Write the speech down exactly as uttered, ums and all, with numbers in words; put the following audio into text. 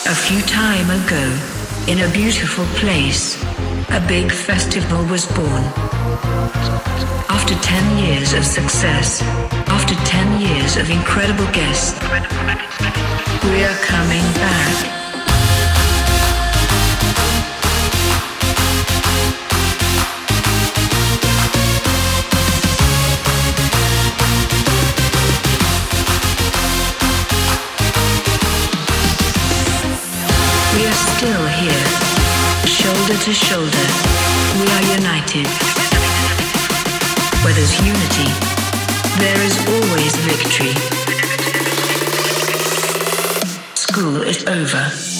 A few time ago, in a beautiful place, a big festival was born. After ten years of success, after ten years of incredible guests, we are coming back. We are still here, shoulder to shoulder, we are united. Where there's unity, there is always victory. School is over.